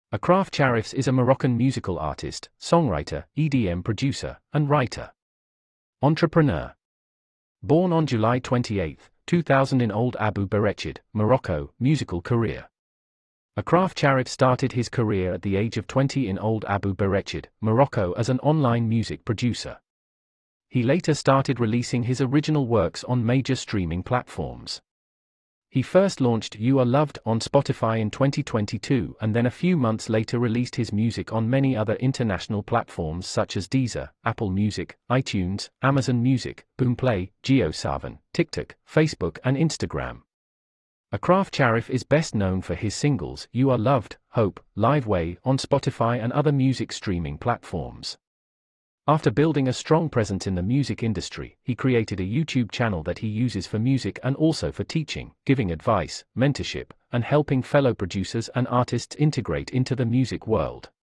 Achraf Charifs is a Moroccan musical artist, songwriter, EDM producer, and writer. Entrepreneur. Born on July 28, 2000 in Ould Abu Berechid, Morocco. Musical career. Achraf Charifs started his career at the age of 20 in Ould Abu Berechid, Morocco as an online music producer. He later started releasing his original works on major streaming platforms. He first launched You Are Loved on Spotify in 2022 and then a few months later released his music on many other international platforms such as Deezer, Apple Music, iTunes, Amazon Music, Boomplay, JioSaavn, TikTok, Facebook and Instagram. Achraf Charifs is best known for his singles You Are Loved, Hope, Live Way on Spotify and other music streaming platforms. After building a strong presence in the music industry, he created a YouTube channel that he uses for music and also for teaching, giving advice, mentorship, and helping fellow producers and artists integrate into the music world.